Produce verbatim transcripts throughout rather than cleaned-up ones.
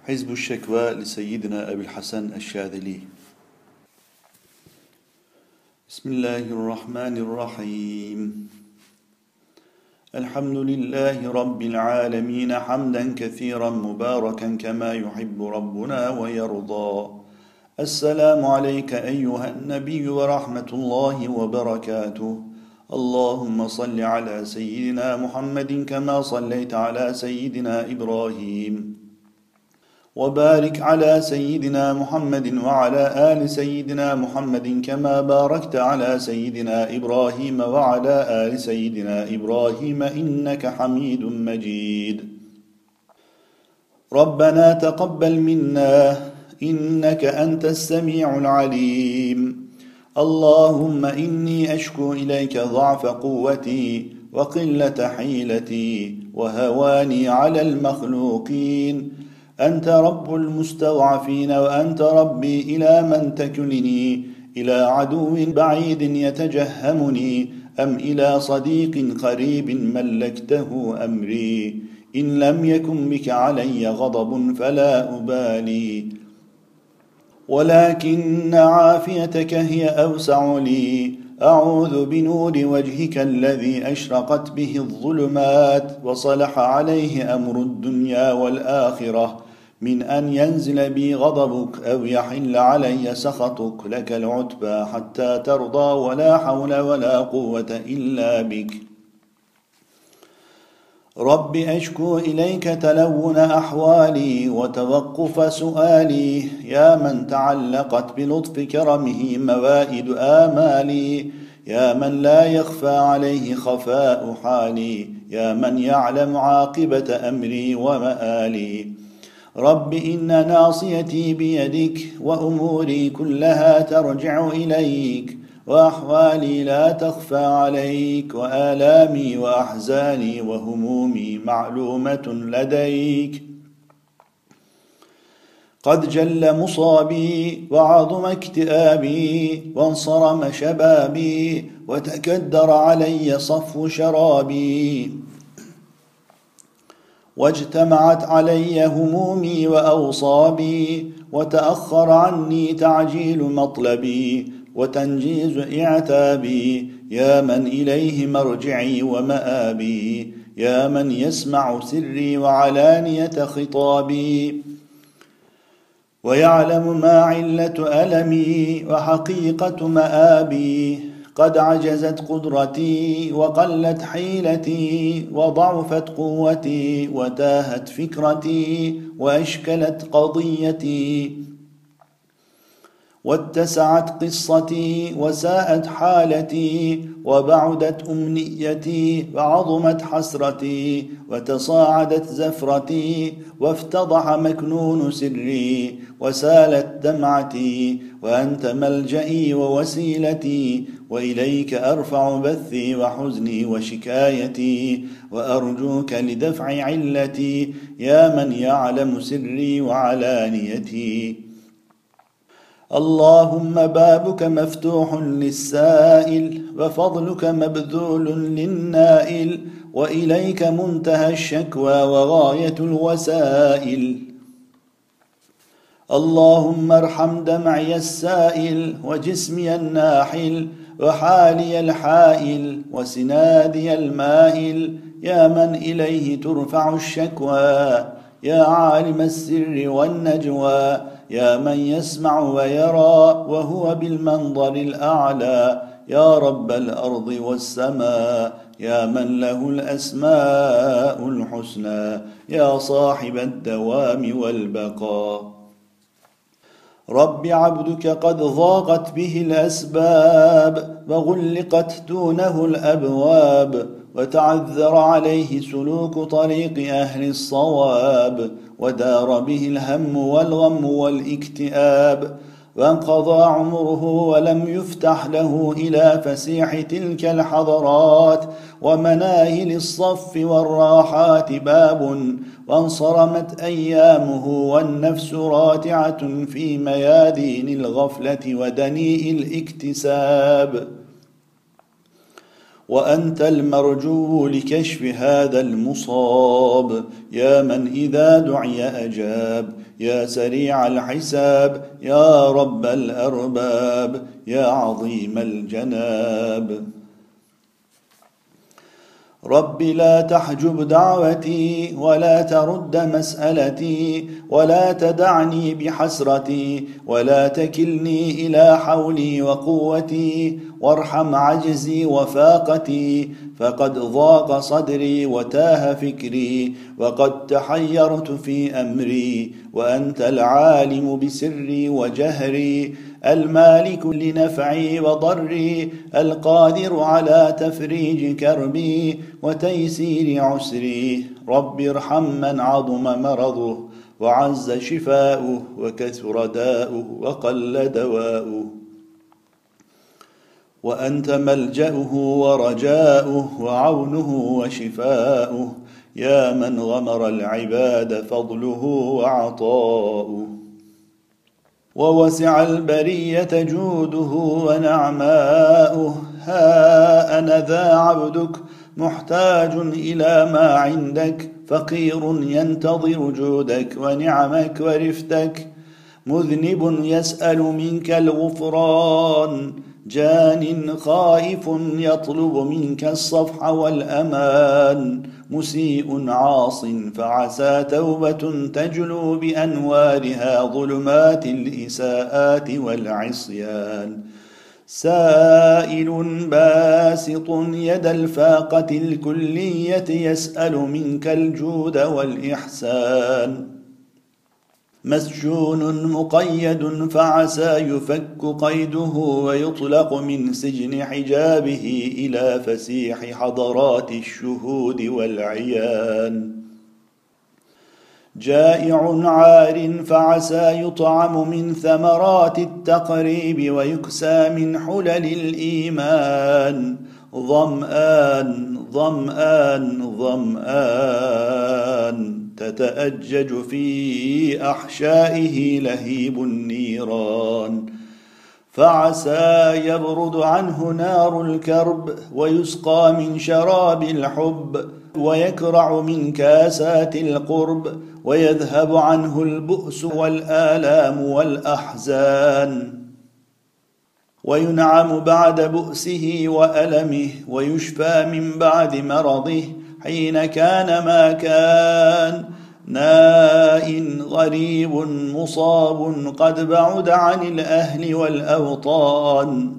حزب الشكوى لسيدنا أبي الحسن الشاذلي. بسم الله الرحمن الرحيم. الحمد لله رب العالمين حمدا كثيرا مباركا كما يحب ربنا ويرضى. السلام عليك أيها النبي ورحمة الله وبركاته. اللهم صل على سيدنا محمد كما صليت على سيدنا إبراهيم، وبارك على سيدنا محمد وعلى آل سيدنا محمد كما باركت على سيدنا إبراهيم وعلى آل سيدنا إبراهيم إنك حميد مجيد. ربنا تقبل منا إنك أنت السميع العليم. اللهم إني أشكو إليك ضعف قوتي وقلة حيلتي وهواني على المخلوقين. أنت رب المستضعفين وأنت ربي، إلى من تكلني؟ إلى عدو بعيد يتجهمني أم إلى صديق قريب ملكته أمري؟ إن لم يكن بك علي غضب فلا أبالي، ولكن عافيتك هي أوسع لي. أعوذ بنور وجهك الذي أشرقت به الظلمات وصلح عليه أمر الدنيا والآخرة من أن ينزل بي غضبك أو يحل علي سخطك. لك العتبى حتى ترضى، ولا حول ولا قوة إلا بك. رب أشكو إليك تلون أحوالي وتوقف سؤالي، يا من تعلقت بلطف كرمه موائد آمالي، يا من لا يخفى عليه خفاء حالي، يا من يعلم عاقبة أمري ومآلي. رب إن ناصيتي بيدك وأموري كلها ترجع إليك، وأحوالي لا تخفى عليك، وآلامي وأحزاني وهمومي معلومة لديك. قد جل مصابي وعظم اكتئابي وانصرم شبابي وتكدر علي صفو شرابي، واجتمعت علي همومي وأوصابي، وتأخر عني تعجيل مطلبي وتنجيز اعتابي. يا من إليه مرجعي ومآبي، يا من يسمع سري وعلانية خطابي، ويعلم ما علة ألمي وحقيقة مآبي. قد عجزت قدرتي وقلت حيلتي وضعفت قوتي وتاهت فكرتي وأشكلت قضيتي واتسعت قصتي وساءت حالتي وبعدت أمنيتي وعظمت حسرتي وتصاعدت زفرتي وافتضح مكنون سري وسالت دمعتي. وأنت ملجئي ووسيلتي، وإليك أرفع بثي وحزني وشكايتي، وأرجوك لدفع علتي، يا من يعلم سري وعلانيتي. اللهم بابك مفتوح للسائل وفضلك مبذول للنائل، وإليك منتهى الشكوى وغاية الوسائل. اللهم ارحم دمعي السائل وجسمي الناحل وحالي الحائل وسنادي المائل، يا من إليه ترفع الشكوى، يا عالم السر والنجوى، يا من يسمع ويرى وهو بالمنظر الأعلى، يا رب الأرض والسماء، يا من له الأسماء الحسنى، يا صاحب الدوام والبقاء. رب عبدك قد ضاقت به الأسباب وغلقت دونه الأبواب، وتعذر عليه سلوك طريق أهل الصواب، ودار به الهم والغم والاكتئاب، وانقضى عمره ولم يفتح له إلى فسيح تلك الحضرات ومناهل الصف والراحات باب، وانصرمت أيامه والنفس راتعة في ميادين الغفلة ودنيء الاكتساب. وأنت المرجو لكشف هذا المصاب، يا من إذا دعي أجاب، يا سريع الحساب، يا رب الأرباب، يا عظيم الجناب. رب لا تحجب دعوتي ولا ترد مسألتي، ولا تدعني بحسرتي، ولا تكلني إلى حولي وقوتي، وارحم عجزي وفاقتي، فقد ضاق صدري وتاه فكري، وقد تحيرت في أمري، وأنت العالم بسري وجهري، المالك لنفعي وضري، القادر على تفريج كربي وتيسير عسري. رب ارحم من عظم مرضه وعز شفاؤه وكثر داؤه وقل دواؤه، وأنت ملجأه ورجاؤه وعونه وشفاؤه، يا من غمر العباد فضله وعطاؤه، ووسع البرية جوده ونعماؤه. ها أنا ذا عبدك محتاج إلى ما عندك، فقير ينتظر جودك ونعمك ورفتك، مذنب يسأل منك الغفران، جان خائف يطلب منك الصفح والأمان، مسيء عاص فعسى توبة تجلو بأنوارها ظلمات الإساءات والعصيان، سائل باسط يد الفاقة الكلية يسأل منك الجود والإحسان، مسجون مقيد فعسى يفك قيده ويطلق من سجن حجابه إلى فسيح حضرات الشهود والعيان، جائع عار فعسى يطعم من ثمرات التقريب ويكسى من حلل الإيمان، ظمآن ظمآن ظمآن تتأجج في أحشائه لهيب النيران، فعسى يبرد عنه نار الكرب ويسقى من شراب الحب، ويكرع من كاسات القرب ويذهب عنه البؤس والآلام والأحزان، وينعم بعد بؤسه وألمه، ويشفى من بعد مرضه حين كان ما كان، ناء غريب مصاب قد بعد عن الأهل والأوطان،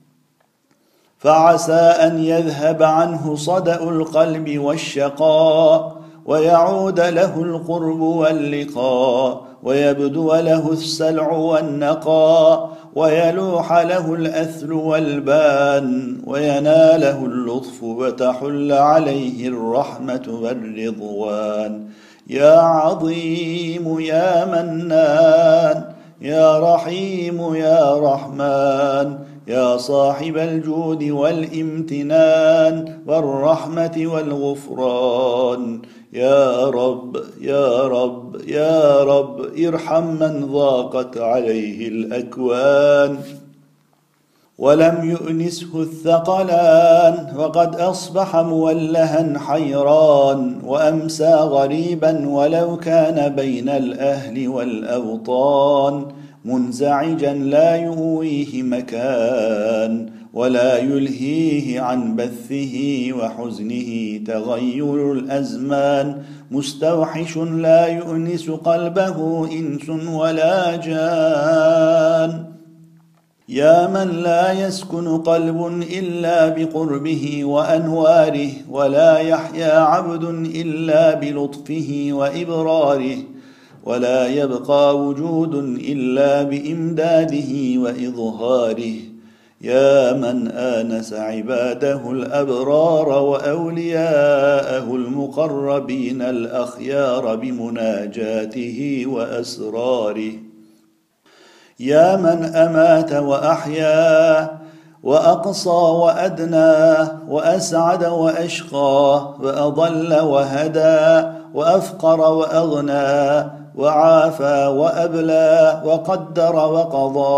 فعسى أن يذهب عنه صدأ القلب والشقاء، ويعود له القرب واللقاء، ويبدو له السلع والنقاء، ويلوح له الأثل والبان، ويناله اللطف وتحل عليه الرحمة والرضوان، يا عظيم يا منان، يا رحيم يا رحمن، يا صاحب الجود والامتنان والرحمة والغفران، يا رب يا رب يا رب ارحم من ضاقت عليه الأكوان، ولم يؤنسه الثقلان، وقد أصبح مولها حيران، وأمسى غريبا ولو كان بين الأهل والأوطان، منزعجا لا يؤويه مكان، ولا يلهيه عن بثه وحزنه تغير الأزمان، مستوحش لا يؤنس قلبه إنس ولا جان، يا من لا يسكن قلب إلا بقربه وأنواره، ولا يحيا عبد إلا بلطفه وإبراره، ولا يبقى وجود إلا بإمداده وإظهاره، يا من آنس عباده الأبرار وأولياءه المقربين الأخيار بمناجاته وأسراره، يا من أمات وأحيا وأقصى وأدنى وأسعد وأشقى وأضل وهدى وأفقر وأغنى وعافى وأبلى وقدر وقضى،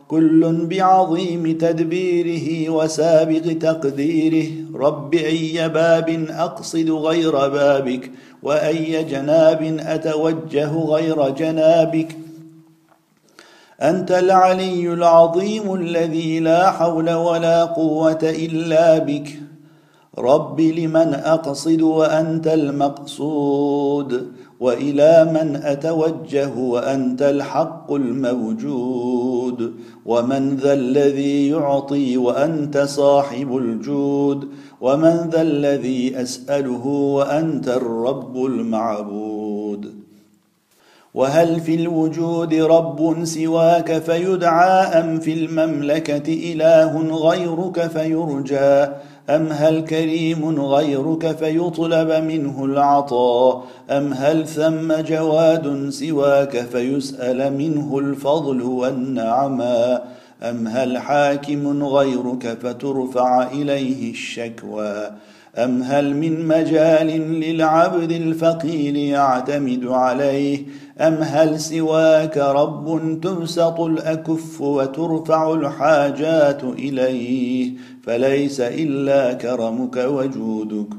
كل بعظيم تدبيره وسابق تقديره. رب أي باب أقصد غير بابك، وأي جناب أتوجه غير جنابك. أنت العلي العظيم الذي لا حول ولا قوة إلا بك. رب لمن أقصد وأنت المقصود، وإلى من أتوجه وأنت الحق الموجود. ومن ذا الذي يعطي وأنت صاحب الجود، ومن ذا الذي أسأله وأنت الرب المعبود. وهل في الوجود رب سواك فيدعى، أم في المملكة إله غيرك فيرجى؟ أم هل كريم غيرك فيطلب منه العطاء؟ أم هل ثم جواد سواك فيسأل منه الفضل والنعماء؟ أم هل حاكم غيرك فترفع إليه الشكوى؟ أم هل من مجال للعبد الفقير يعتمد عليه؟ أم هل سواك رب تبسط الأكف وترفع الحاجات إليه؟ فليس إلا كرمك وجودك.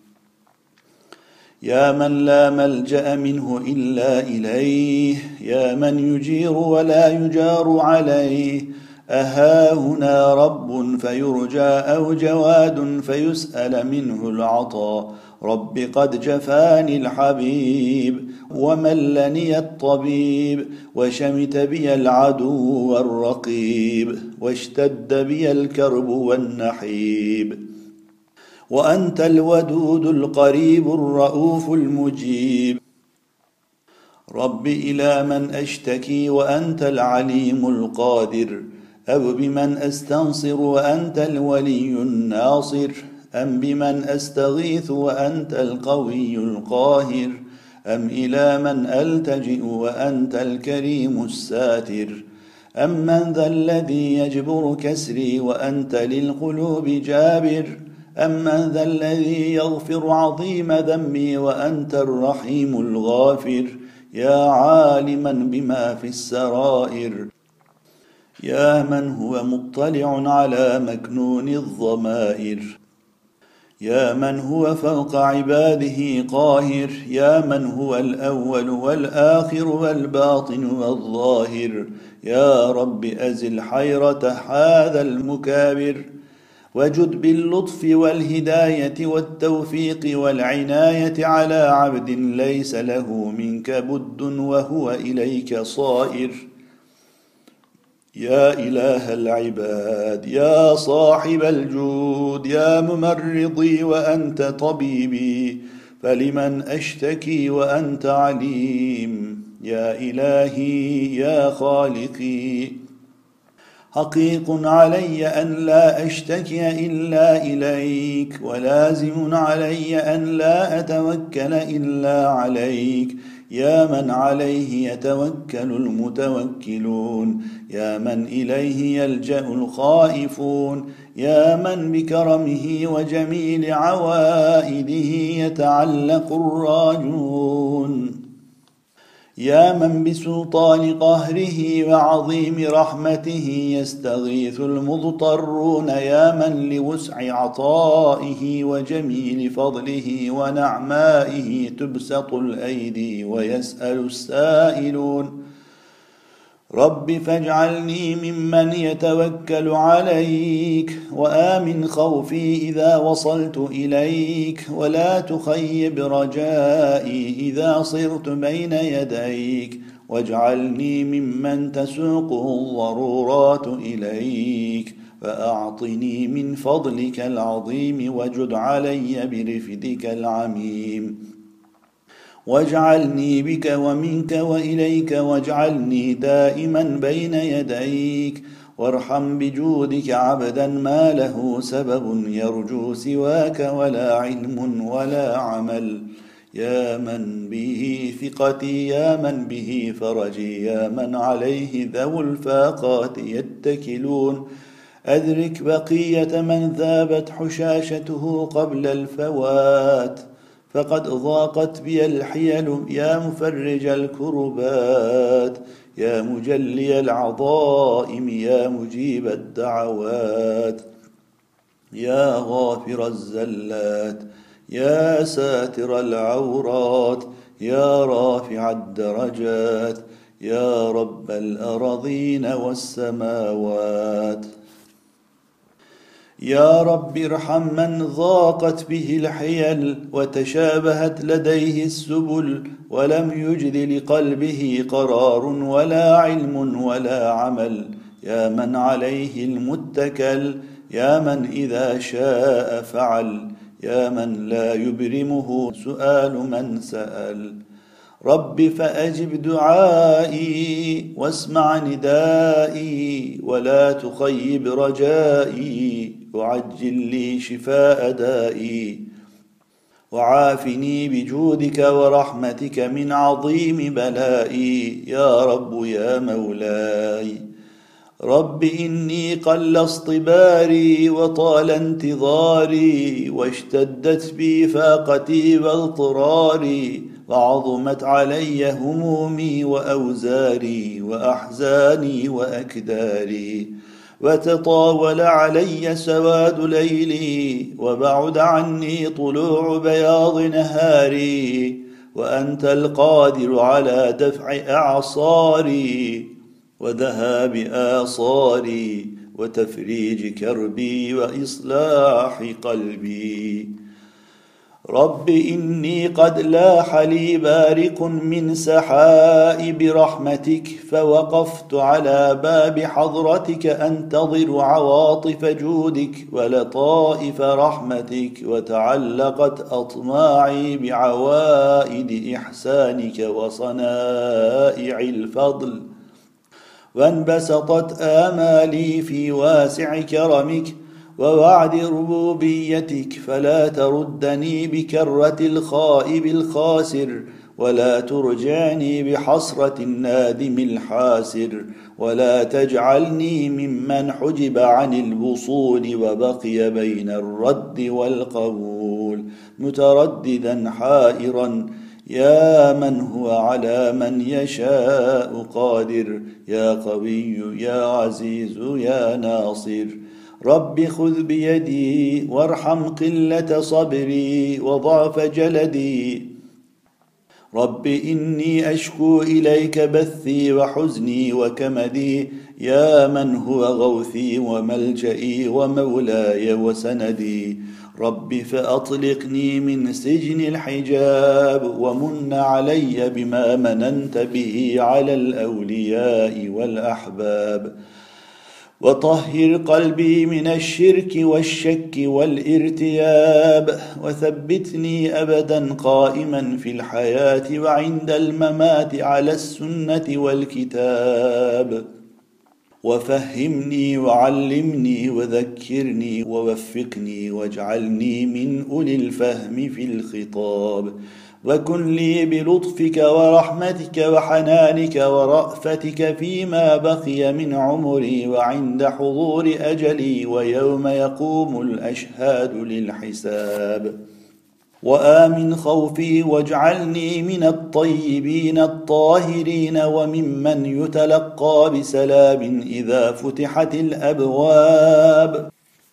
يا من لا ملجأ منه إلا إليه، يا من يجير ولا يجار عليه. أها هنا رب فيرجى، أو جواد فيسأل منه العطاء؟ رب قد جفاني الحبيب وملني الطبيب، وشمت بي العدو والرقيب، واشتد بي الكرب والنحيب. وأنت الودود القريب الرؤوف المجيب. رب إلى من أشتكي وأنت العليم القادر؟ أو بمن أستنصر وأنت الولي الناصر؟ أم بمن أستغيث وأنت القوي القاهر؟ أم إلى من ألتجئ وأنت الكريم الساتر؟ أم من ذا الذي يجبر كسري وأنت للقلوب جابر؟ أم من ذا الذي يغفر عظيم ذنبي وأنت الرحيم الغافر؟ يا عالما بما في السرائر، يا من هو مطلع على مكنون الضمائر، يا من هو فوق عباده قاهر، يا من هو الأول والآخر والباطن والظاهر. يا رب أزل حيرة هذا المكابر، وجد باللطف والهداية والتوفيق والعناية على عبد ليس له منك بد وهو إليك صائر. يا إله العباد، يا صاحب الجود، يا ممرضي وأنت طبيبي، فلمن أشتكي وأنت عليم؟ يا إلهي يا خالقي، حقيق علي أن لا أشتكي إلا إليك، ولازم علي أن لا أتوكل إلا عليك. يا من عليه يتوكل المتوكلون، يا من إليه يلجأ الخائفون، يا من بكرمه وجميل عوائده يتعلق الراجون، يا من بسلطان قهره وعظيم رحمته يستغيث المضطرون، يا من لوسع عطائه وجميل فضله ونعمائه تبسط الأيدي ويسأل السائلون. رب فاجعلني ممن يتوكل عليك، وآمن خوفي إذا وصلت إليك، ولا تخيب رجائي إذا صرت بين يديك، واجعلني ممن تسوقه الضرورات إليك، فأعطني من فضلك العظيم وجد علي برفدك العميم، واجعلني بك ومنك وإليك، واجعلني دائما بين يديك، وارحم بجودك عبدا ما له سبب يرجو سواك ولا علم ولا عمل. يا من به ثقتي، يا من به فرجي، يا من عليه ذو الفاقات يتكلون، أدرك بقية من ذابت حشاشته قبل الفوات، فقد ضاقت بي الحيل يا مفرج الكربات يا مجلي العظائم يا مجيب الدعوات يا غافر الزلات يا ساتر العورات يا رافع الدرجات يا رب الأراضين والسماوات يا رب ارحم من ضاقت به الحيل وتشابهت لديه السبل ولم يجد لقلبه قرار ولا علم ولا عمل يا من عليه المتكل يا من إذا شاء فعل يا من لا يبرمه سؤال من سأل رب فأجب دعائي واسمع ندائي ولا تخيب رجائي وعجل لي شفاء دائي وعافني بجودك ورحمتك من عظيم بلائي يا رب يا مولاي رب إني قل اصطباري وطال انتظاري واشتدت بي فاقتي واضطراري وعظمت علي همومي وأوزاري وأحزاني وأكداري وتطاول علي سواد ليلي وبعد عني طلوع بياض نهاري وأنت القادر على دفع أعصاري وذهاب آصاري وتفريج كربي وإصلاح قلبي رب إني قد لاح لي بارق من سحائب رحمتك فوقفت على باب حضرتك أنتظر عواطف جودك ولطائف رحمتك وتعلقت أطماعي بعوائد إحسانك وصنائع الفضل وانبسطت آمالي في واسع كرمك ووعد ربوبيتك فلا تردني بكرة الخائب الخاسر ولا ترجعني بحسرة النادم الحاسر ولا تجعلني ممن حجب عن الوصول وبقي بين الرد والقبول مترددا حائرا يا من هو على من يشاء قادر يا قوي يا عزيز يا ناصر رب خذ بيدي وارحم قلة صبري وضعف جلدي رب إني أشكو إليك بثي وحزني وكمدي يا من هو غوثي وملجئي ومولاي وسندي رب فأطلقني من سجن الحجاب ومن علي بما مننت به على الأولياء والأحباب وطهر قلبي من الشرك والشك والارتياب وثبتني أبدا قائما في الحياة وعند الممات على السنة والكتاب وفهمني وعلمني وذكرني ووفقني واجعلني من أولي الفهم في الخطاب وكن لي بلطفك ورحمتك وحنانك ورأفتك فيما بقي من عمري وعند حضور أجلي ويوم يقوم الأشهاد للحساب وآمن خوفي واجعلني من الطيبين الطاهرين وممن يتلقى بسلام إذا فتحت الأبواب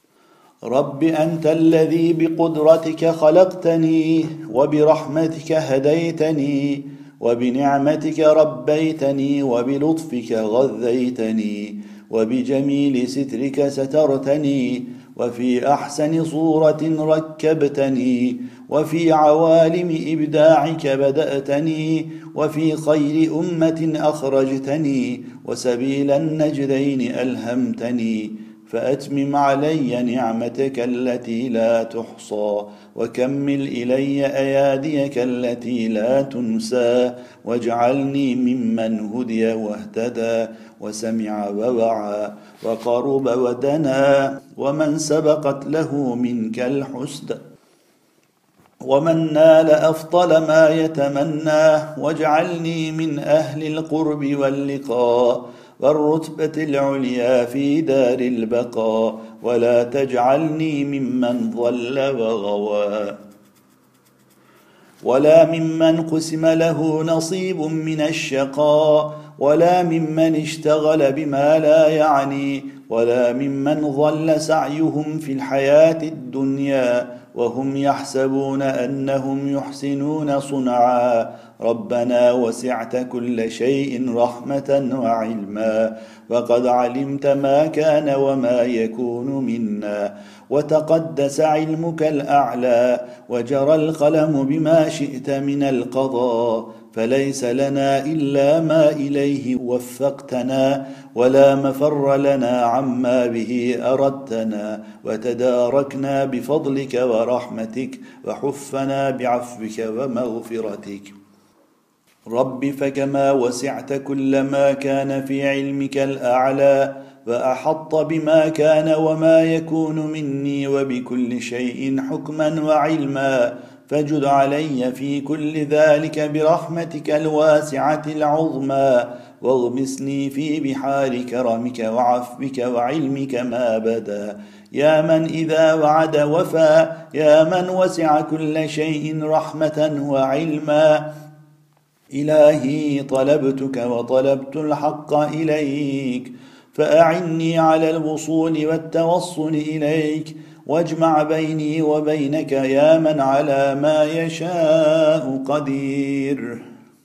رب أنت الذي بقدرتك خلقتني وبرحمتك هديتني وبنعمتك ربيتني وبلطفك غذيتني وبجميل سترك سترتني وفي أحسن صورة ركبتني وفي عوالم إبداعك بدأتني وفي خير أمة أخرجتني وسبيل النجدين ألهمتني فأتمم علي نعمتك التي لا تحصى وكمل إلي أياديك التي لا تنسى واجعلني ممن هدي واهتدى وسمع ووعى وقرب ودنا ومن سبقت له منك الحسنى ومن نال أفضل ما يتمناه واجعلني من أهل القرب واللقاء والرتبة العليا في دار البقاء ولا تجعلني ممن ضل وغوى ولا ممن قسم له نصيب من الشقاء، ولا ممن اشتغل بما لا يعني، ولا ممن ضل سعيهم في الحياة الدنيا وهم يحسبون أنهم يحسنون صنعا. ربنا وسعت كل شيء رحمة وعلما، وقد علمت ما كان وما يكون منا، وتقدس علمك الأعلى، وجرى القلم بما شئت من القضاء، فليس لنا إلا ما إليه وفقتنا، ولا مفر لنا عما به أردتنا، وتداركنا بفضلك ورحمتك، وحفنا بعفوك ومغفرتك. رب فكما وسعت كل ما كان في علمك الأعلى، وأحط بما كان وما يكون مني وبكل شيء حكما وعلما، فاجد علي في كل ذلك برحمتك الواسعة العظمى، واغمسني في بحار كرمك وعفوك وعلمك ما بدا، يا من إذا وعد وفى، يا من وسع كل شيء رحمة وعلما. إلهي طلبتك وطلبت الحق إليك، فأعني على الوصول والتوصل إليك، واجمع بيني وبينك يا من على ما يشاء قدير.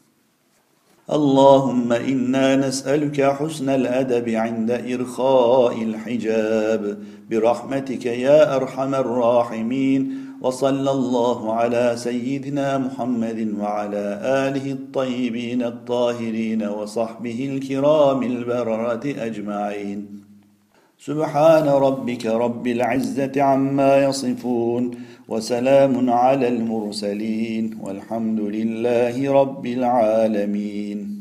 اللهم إنا نسألك حسن الأدب عند إرخاء الحجاب برحمتك يا أرحم الراحمين. وصلى الله على سيدنا محمد وعلى آله الطيبين الطاهرين وصحبه الكرام البررة أجمعين. سبحان ربك رب العزة عما يصفون، وسلام على المرسلين، والحمد لله رب العالمين.